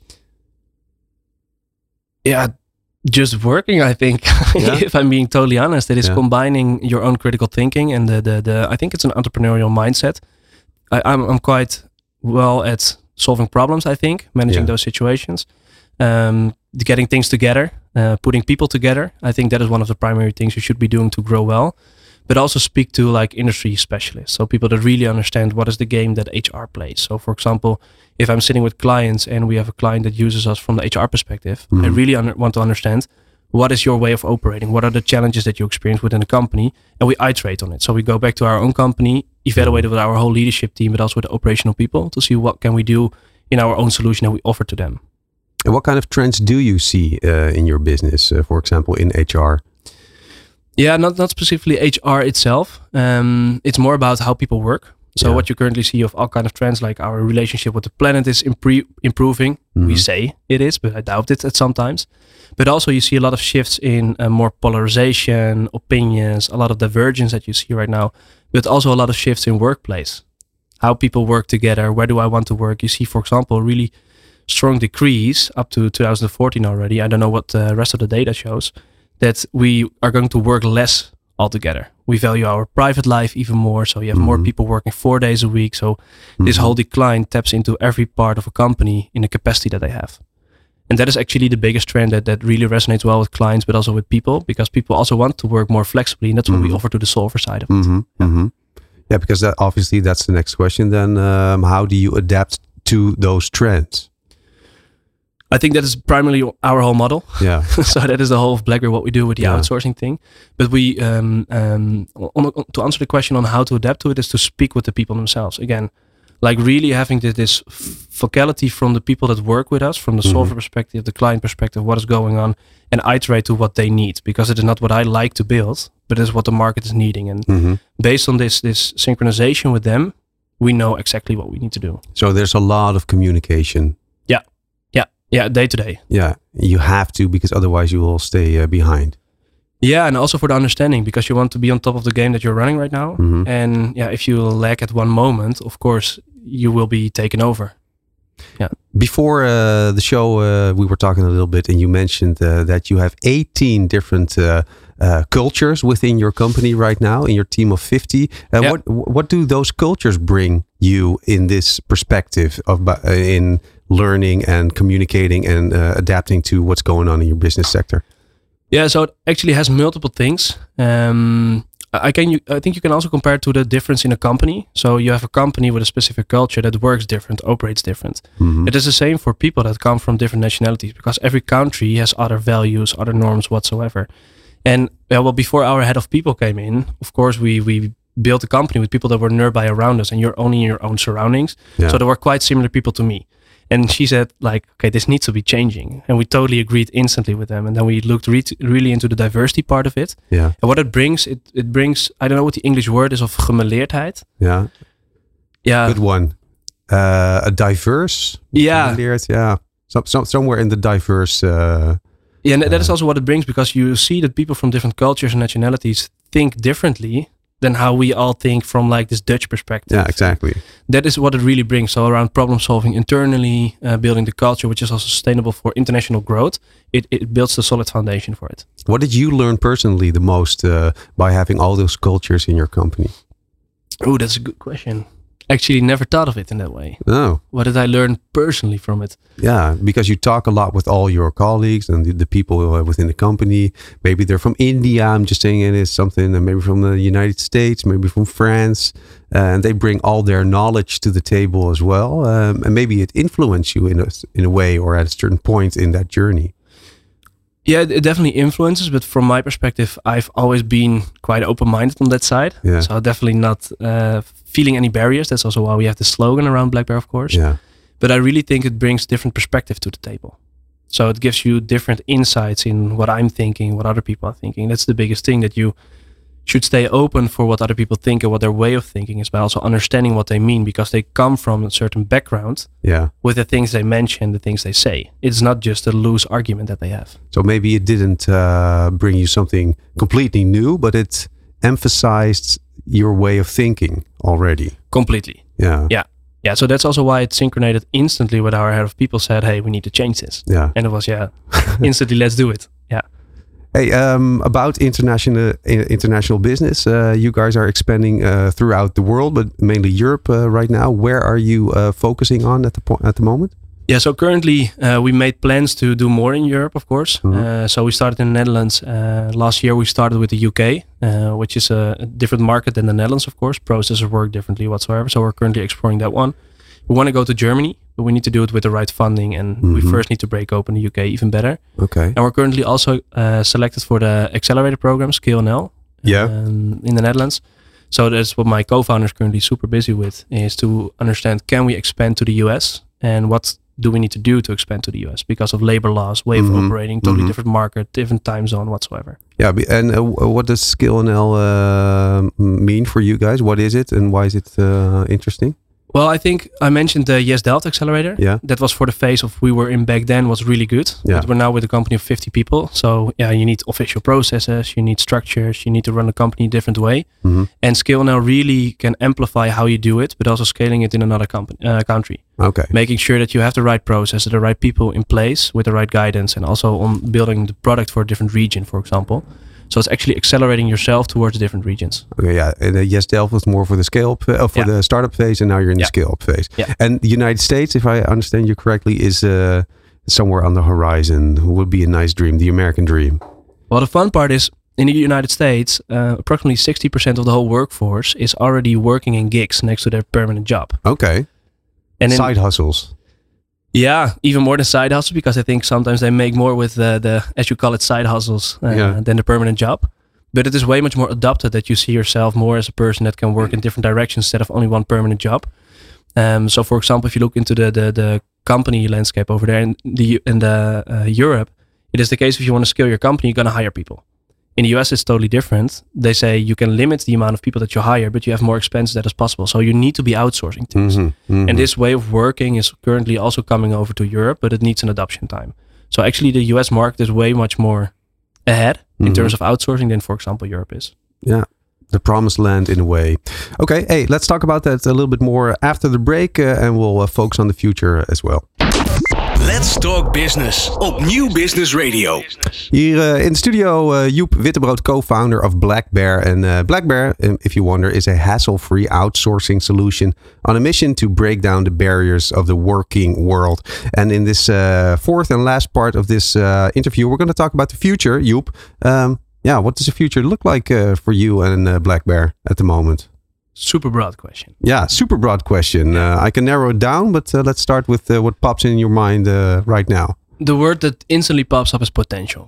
Yeah, just working. I think, Yeah? if I'm being totally honest, it is Yeah. combining your own critical thinking and the the, the I think it's an entrepreneurial mindset. I, I'm I'm quite well at solving problems. I think managing Yeah. those situations, um, getting things together, uh, putting people together. I think that is one of the primary things you should be doing to grow well. But also speak to like industry specialists, so people that really understand what is the game that H R plays. So, for example, if I'm sitting with clients and we have a client that uses us from the H R perspective, Mhm. I really under- want to understand what is your way of operating, what are the challenges that you experience within the company, and we iterate on it. So we go back to our own company, evaluate it with our whole leadership team, but also with the operational people to see what can we do in our own solution that we offer to them. And what kind of trends do you see uh, in your business, uh, for example, in H R? Yeah, not not specifically H R itself. Um, it's more about how people work. So Yeah. what you currently see of all kind of trends, like our relationship with the planet is impre- improving. Mhm. We say it is, but I doubt it at sometimes. But also you see a lot of shifts in uh, more polarization, opinions, a lot of divergence that you see right now. But also a lot of shifts in workplace, how people work together. Where do I want to work? You see, for example, a really strong decrease up to two thousand fourteen already. I don't know what the rest of the data shows. That we are going to work less altogether. We value our private life even more. So you have more Mhm. people working four days a week. So this Mhm. whole decline taps into every part of a company in the capacity that they have. And that is actually the biggest trend that, that really resonates well with clients, but also with people, because people also want to work more flexibly. And that's what Mhm. we offer to the solver side of it. Mm-hmm. Mm-hmm. Yeah, because that, obviously that's the next question. Then, um, how do you adapt to those trends? I think that is primarily our whole model. Yeah. So that is the whole of Blackberry, what we do with the Yeah. outsourcing thing. But we, um, um, on, on, to answer the question on how to adapt to it, is to speak with the people themselves. Again, like really having this, this vocality from the people that work with us, from the Mhm. solver perspective, the client perspective, what is going on, and iterate to what they need, because it is not what I like to build, but it is what the market is needing. And Mm-hmm. based on this, this synchronization with them, we know exactly what we need to do. So there's a lot of communication. Yeah, day to day. Yeah, you have to, because otherwise you will stay uh, behind. Yeah, and also for the understanding, because you want to be on top of the game that you're running right now. Mhm. And yeah, if you lag at one moment, of course, you will be taken over. Before uh, the show, uh, we were talking a little bit, and you mentioned uh, that you have eighteen different uh, uh, cultures within your company right now, in your team of fifty. Uh, Yeah. What what do those cultures bring you in this perspective of bu- uh, in learning and communicating and uh, adapting to what's going on in your business sector? Yeah, so it actually has multiple things. Um, I can. You, I think you can also compare it to the difference in a company. So you have a company with a specific culture that works different, operates different. Mhm. It is the same for people that come from different nationalities, because every country has other values, other norms whatsoever. And yeah, well, before our head of people came in, of course, we we built a company with people that were nearby around us, and you're only in your own surroundings. Yeah. So there were quite similar people to me. And she said, like, okay, this needs to be changing. And we totally agreed instantly with them. And then we looked re- really into the diversity part of it. Yeah, And what it brings, it, it brings, I don't know what the English word is of gemeleerdheid. yeah, Yeah. good one. Uh, a diverse, Yeah. yeah, some, some, somewhere in the diverse uh, Yeah, and that Uh, is also what it brings, because you see that people from different cultures and nationalities think differently than how we all think from like this Dutch perspective. Yeah, exactly. That is what it really brings. So around problem solving internally, uh, building the culture, which is also sustainable for international growth, it, it builds the solid foundation for it. What did you learn personally the most uh, by having all those cultures in your company? Oh, that's a good question. Actually, never thought of it in that way. Oh, What did I learn personally from it? yeah, because you talk a lot with all your colleagues and the, the people uh, within the company. Maybe they're from India. I'm just saying it is something. And maybe from the United States. Maybe from France. Uh, and they bring all their knowledge to the table as well. Um, and maybe it influenced you in a in a way or at a certain point in that journey. Yeah, it it definitely influences, but from my perspective, I've always been quite open-minded on that side. Yeah. So definitely not uh, feeling any barriers. That's also why we have the slogan around Black Bear, of course. Yeah. But I really think it brings different perspective to the table. So it gives you different insights in what I'm thinking, what other people are thinking. That's the biggest thing, that you should stay open for what other people think and what their way of thinking is, by also understanding what they mean, because they come from a certain background Yeah. with the things they mention, the things they say. It's not just a loose argument that they have. So maybe it didn't uh, bring you something completely new, but it emphasized your way of thinking already. Completely. Yeah. Yeah. Yeah. So that's also why it synchronized instantly with our head of people said, hey, we need to change this. Yeah. And it was, yeah, instantly, let's do it. Yeah. Hey, um, about international i- international business, uh, you guys are expanding uh, throughout the world, but mainly Europe uh, right now. Where are you uh, focusing on at the po- at the moment? Yeah, so currently uh, we made plans to do more in Europe, of course. Mhm. Uh, so we started in the Netherlands. Uh, last year we started with the U K, uh, which is a, a different market than the Netherlands, of course. Processes work differently whatsoever. So we're currently exploring that one. We want to go to Germany, but we need to do it with the right funding. And we Mhm. first need to break open the U K even better. Okay. And we're currently also uh, selected for the accelerator program, Scale N L, Yeah. um, in the Netherlands. So that's what my co-founder is currently super busy with, is to understand, can we expand to the U S? And what do we need to do to expand to the U S? Because of labor laws, way Mhm. of operating, totally Mhm. different market, different time zone whatsoever. Yeah, be- and uh, what does Skill N L uh, mean for you guys? What is it, and why is it uh, interesting? Well, I think I mentioned the Yes Delft Accelerator. Yeah. That was for the phase of we were in back then was really good. Yeah. But we're now with a company of fifty people. So yeah, you need official processes, you need structures, you need to run a company a different way. Mhm. And Scale Now really can amplify how you do it, but also scaling it in another company, uh, country. Okay. Making sure that you have the right processes, the right people in place with the right guidance, and also on building the product for a different region, for example. So it's actually accelerating yourself towards different regions. Okay, yeah. And uh, Yes Delft was more for the scale up, uh, for Yeah. the startup phase, and now you're in the Yeah. scale up phase. Yeah. And the United States, if I understand you correctly, is uh, somewhere on the horizon. Would be a nice dream, the American dream. Well, the fun part is in the United States, uh, approximately sixty percent of the whole workforce is already working in gigs next to their permanent job. Okay. And in, Side hustles. yeah, even more than side hustles, because I think sometimes they make more with the, the as you call it, side hustles uh, Yeah. than the permanent job. But it is way much more adapted, that you see yourself more as a person that can work in different directions instead of only one permanent job. Um, so, for example, if you look into the the, the company landscape over there in the in the uh, Europe, it is the case if you want to scale your company, you're going to hire people. In the U S, it's totally different. They say you can limit the amount of people that you hire, but you have more expenses that is possible. So you need to be outsourcing things. Mhm, mhm. And this way of working is currently also coming over to Europe, but it needs an adoption time. So actually the U S market is way much more ahead in Mhm. terms of outsourcing than, for example, Europe is. Yeah. The promised land in a way. Okay, hey, let's talk about that a little bit more after the break, uh, and we'll uh, focus on the future as well. Let's Talk Business op Nieuw Business Radio. Hier uh, in de studio, uh, Joep Wittebrood, co-founder of Black Bear. And uh, Black Bear, um, if you wonder, is a hassle-free outsourcing solution on a mission to break down the barriers of the working world. And in this uh, fourth and last part of this uh, interview, we're going to talk about the future, Joep. Um, yeah, what does the future look like uh, for you and uh, Black Bear at the moment? Super broad question. Yeah, super broad question. Uh, I can narrow it down, but uh, let's start with uh, what pops in your mind uh, right now. The word that instantly pops up is potential.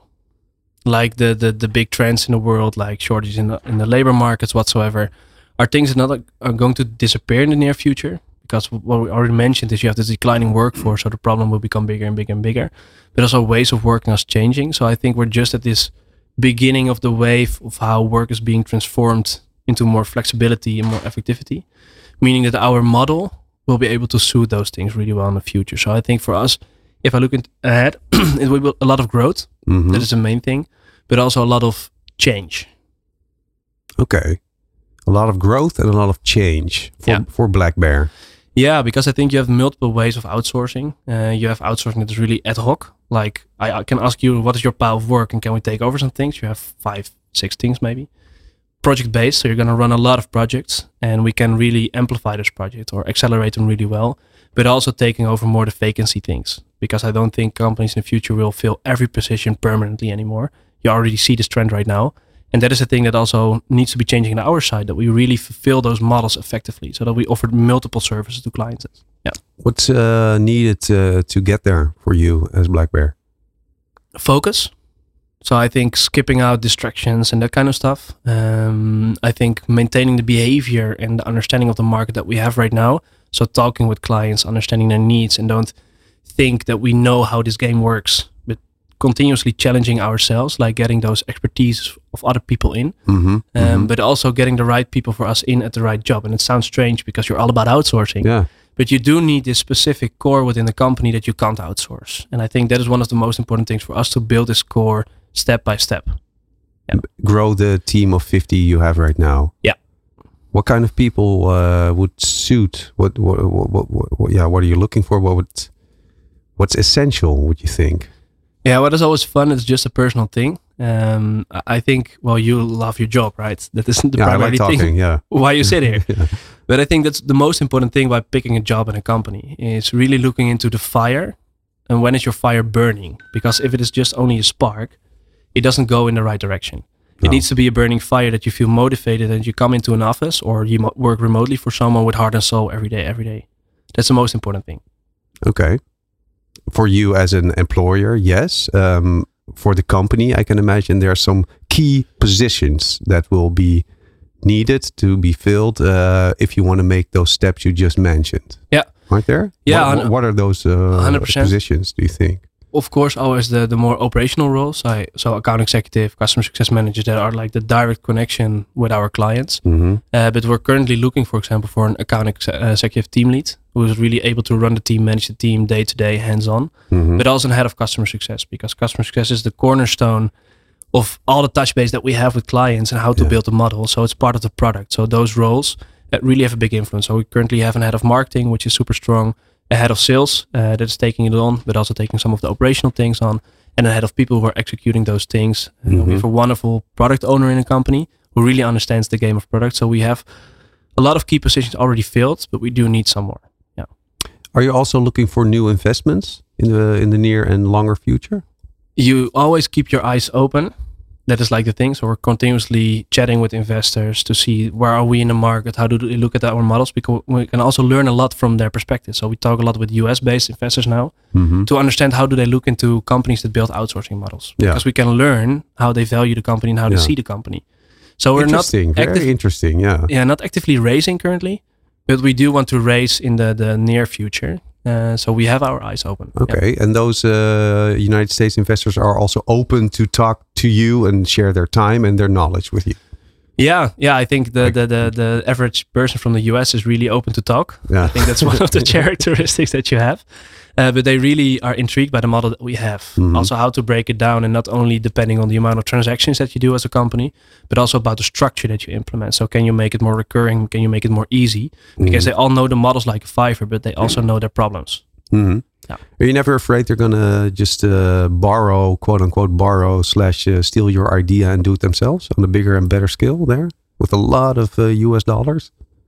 Like the the, the big trends in the world, like shortages in the, in the labor markets whatsoever, are things that not are going to disappear in the near future. Because what we already mentioned is you have this declining workforce, so the problem will become bigger and bigger and bigger. But also ways of working are changing. So I think we're just at this beginning of the wave of how work is being transformed into more flexibility and more effectivity, meaning that our model will be able to suit those things really well in the future. So I think for us, if I look in, ahead, it will be a lot of growth. Mhm. That is the main thing, but also a lot of change. Okay. A lot of growth and a lot of change for, Yeah. for Black Bear. Yeah, because I think you have multiple ways of outsourcing. Uh, you have outsourcing that is really ad hoc. Like I, I can ask you, what is your pile of work, and can we take over some things? You have five, six things maybe. Project based, so you're going to run a lot of projects, and we can really amplify this project or accelerate them really well. But also taking over more the vacancy things, because I don't think companies in the future will fill every position permanently anymore. You already see this trend right now. And that is a thing that also needs to be changing on our side, that we really fulfill those models effectively, so that we offer multiple services to clients. Yeah. What's uh, needed uh, to get there for you as Black Bear? Focus. So I think skipping out distractions and that kind of stuff. Um, I think maintaining the behavior and the understanding of the market that we have right now. So talking with clients, understanding their needs, and don't think that we know how this game works, but continuously challenging ourselves, like getting those expertise of other people in, Mm-hmm. um, mm-hmm. but also getting the right people for us in at the right job. And it sounds strange because you're all about outsourcing, Yeah. but you do need this specific core within the company that you can't outsource. And I think that is one of the most important things for us, to build this core step by step. Grow the team of fifty you have right now. Yeah. What kind of people uh, would suit? What what, what what what what yeah? What are you looking for? What would what's essential? Would you think? Yeah, what is always fun is just a personal thing. Um, I I think, well, you love your job, right? That is the Yeah, I primary like talking. thing Yeah. why you sit here. Yeah. But I think that's the most important thing by picking a job in a company, is really looking into the fire, and when is your fire burning? Because if it is just only a spark, it doesn't go in the right direction. It No. needs to be a burning fire that you feel motivated, and you come into an office or you mo- work remotely for someone with heart and soul every day, every day. That's the most important thing. Okay. For you as an employer, yes. Um, for the company, I can imagine there are some key positions that will be needed to be filled uh, if you want to make those steps you just mentioned. Yeah. Aren't there? Yeah, What, hun- what are those uh, one hundred percent. positions, do you think? Of course, always the, the more operational roles. I, so account executive, customer success managers, that are like the direct connection with our clients. Mm-hmm. Uh, but we're currently looking, for example, for an account ex- uh, executive team lead who is really able to run the team, manage the team day to day, hands on, Mm-hmm. but also an head of customer success, because customer success is the cornerstone of all the touch base that we have with clients and how to Yeah. build the model. So it's part of the product. So those roles that really have a big influence. So we currently have a head of marketing, which is super strong, a head of sales uh, that is taking it on, but also taking some of the operational things on, and a head of people who are executing those things. Uh, Mhm. we have a wonderful product owner in a company who really understands the game of product. So we have a lot of key positions already filled, but we do need some more. Yeah. Are you also looking for new investments in the in the near and longer future? You always keep your eyes open. That is like the thing. So we're continuously chatting with investors to see where are we in the market, how do they look at our models, because we can also learn a lot from their perspective. So we talk a lot with U S-based investors now Mm-hmm. to understand how do they look into companies that build outsourcing models. Yeah. Because we can learn how they value the company and how Yeah. they see the company. So we're not Interesting. Very active, interesting. Yeah. yeah, not actively raising currently, but we do want to raise in the, the near future. Uh, so we have our eyes open. Yeah. Okay. And those uh, United States investors are also open to talk to you and share their time and their knowledge with you. Yeah, yeah. I think the, Like- the, the, the average person from the U S is really open to talk. Yeah. I think that's one of the characteristics that you have. Uh, but they really are intrigued by the model that we have. Mhm. Also, how to break it down, and not only depending on the amount of transactions that you do as a company, but also about the structure that you implement. So, can you make it more recurring? Can you make it more easy? Because they all know the models like Fiverr, but they also know their problems. Mhm. Yeah. Are you never afraid they're gonna just uh, borrow, quote unquote, borrow slash uh, steal your idea and do it themselves on a bigger and better scale there with a lot of uh, U S dollars?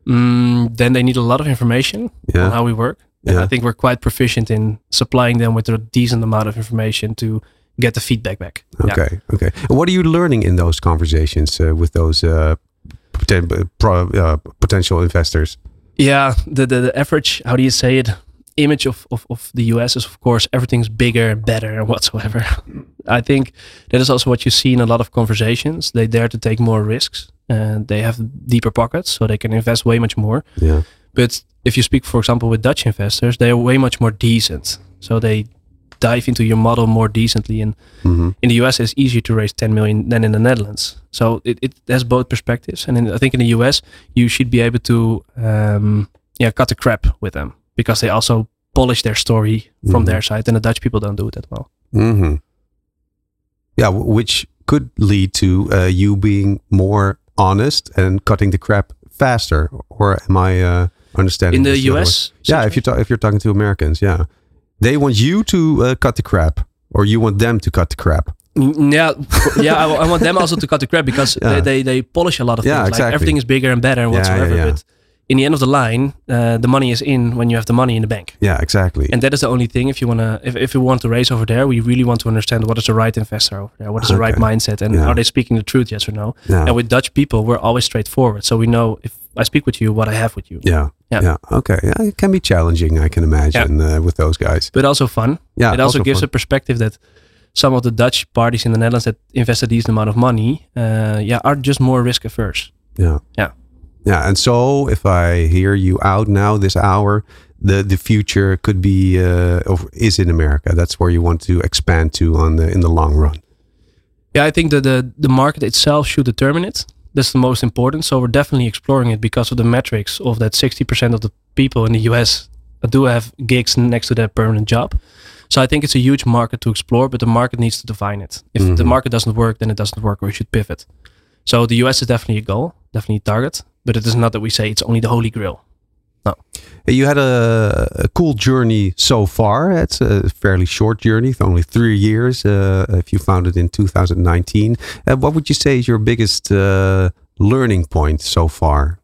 Mm, then they need a lot of information Yeah. on how we work. And Yeah. I think we're quite proficient in supplying them with a decent amount of information to get the feedback back. Yeah. Okay. Okay. And what are you learning in those conversations uh, with those uh, poten- uh, pro- uh, potential investors? Yeah, the, the the average, how do you say it, image of, of, of the U S is, of course, everything's bigger, better, and whatsoever. I think that is also what you see in a lot of conversations. They dare to take more risks, and they have deeper pockets, so they can invest way much more. Yeah. But if you speak, for example, with Dutch investors, they are way much more decent. So they dive into your model more decently. And Mhm. in the U S, it's easier to raise ten million than in the Netherlands. So it, it has both perspectives. And in, I think in the U S, you should be able to um, yeah, cut the crap with them, because they also polish their story from Mm-hmm. their side, and the Dutch people don't do it that well. Mm-hmm. Yeah, w- which could lead to uh, you being more honest and cutting the crap faster. Or am I uh, understanding In the this the other U way? S, Yeah, if you ta- if you're talking to Americans, yeah, they want you to uh, cut the crap, or you want them to cut the crap. Mm, yeah, for- yeah. I, I want them also to cut the crap because Yeah. they, they they polish a lot of Yeah, things. exactly. Like everything is bigger and better and Yeah, yeah, whatsoever. yeah. But in the end of the line, uh, the money is in when you have the money in the bank. Yeah, exactly. And that is the only thing. If you wanna, if, if you want to raise over there, we really want to understand what is the right investor over there, what is the right Okay. mindset, and Yeah. are they speaking the truth, yes or no? Yeah. And with Dutch people, we're always straightforward, so we know if I speak with you, what I have with you. Yeah. Yeah. Yeah. Okay. Yeah, it can be challenging, I can imagine, uh, with those guys. But also fun. Yeah. It also, gives fun. a perspective that some of the Dutch parties in the Netherlands that invest a decent amount of money, uh, yeah, are just more risk averse. Yeah. Yeah. Yeah. And so if I hear you out now this hour, the the future could be uh, of is in America. That's where you want to expand to on the in the long run. Yeah, I think that the the market itself should determine it. That's the most important. So we're definitely exploring it because of the metrics of that sixty percent of the people in the U S do have gigs next to their permanent job. So I think it's a huge market to explore, but the market needs to define it. If Mhm. the market doesn't work, then it doesn't work, or we should pivot. So the U S is definitely a goal, definitely a target, but it is not that we say it's only the holy grail. You had a, a cool journey so far. It's a fairly short journey, it's only three years. Uh, if you founded in two thousand nineteen, uh, what would you say is your biggest uh, learning point so far?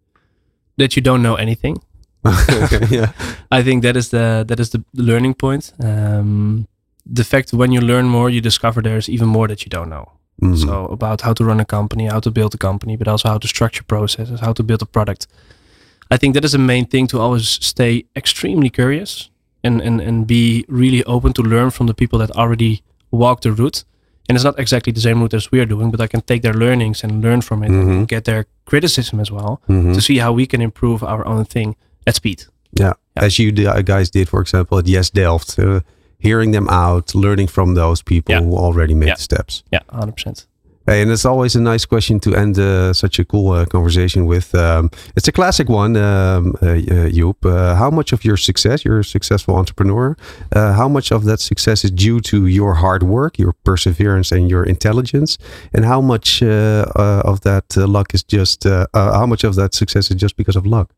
That you don't know anything. Okay, yeah. I think that is the that is the learning point. Um, the fact when you learn more, you discover there's even more that you don't know. Mhm. So about how to run a company, how to build a company, but also how to structure processes, how to build a product. I think that is the main thing, to always stay extremely curious and, and, and be really open to learn from the people that already walk the route. And it's not exactly the same route as we are doing, but I can take their learnings and learn from it Mhm. and get their criticism as well Mhm. to see how we can improve our own thing at speed. Yeah. Yeah. As you d- uh, guys did, for example, at Yes Delft, uh, hearing them out, learning from those people Yeah. who already made Yeah. the steps. Yeah, one hundred percent. Hey, and it's always a nice question to end uh, such a cool uh, conversation with. Um, it's a classic one, um, uh, uh, Joep. Uh, how much of your success, you're a successful entrepreneur, uh, how much of that success is due to your hard work, your perseverance, and your intelligence? And how much uh, uh, of that uh, luck is just, uh, uh, how much of that success is just because of luck?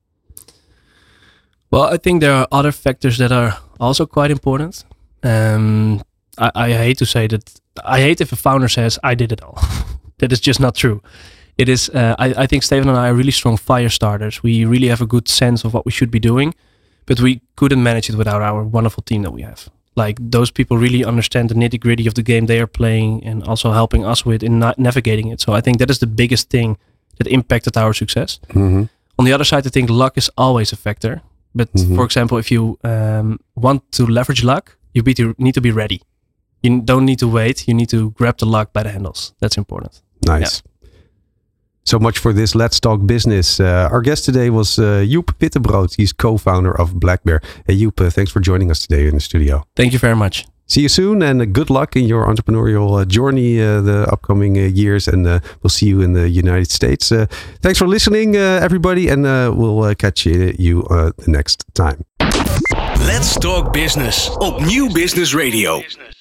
Well, I think there are other factors that are also quite important. Um, I, I hate to say that. I hate if a founder says, I did it all. That is just not true. It is, uh, I, I think Steven and I are really strong fire starters. We really have a good sense of what we should be doing, but we couldn't manage it without our wonderful team that we have. Like, those people really understand the nitty gritty of the game they are playing and also helping us with in na- navigating it. So I think that is the biggest thing that impacted our success. Mm-hmm. On the other side, I think luck is always a factor. But Mhm. for example, if you um, want to leverage luck, you be to, need to be ready. You don't need to wait. You need to grab the luck by the handles. That's important. Nice. So much for this Let's Talk Business. Uh, our guest today was uh, Joep Wittebrood. He's co-founder of Black Bear. Hey, Joep, uh, thanks for joining us today in the studio. Thank you very much. See you soon, and uh, good luck in your entrepreneurial uh, journey uh, the upcoming uh, years, and uh, we'll see you in the United States. Uh, thanks for listening, uh, everybody, and uh, we'll uh, catch you, you uh, the next time. Let's Talk Business op Nieuw Business Radio.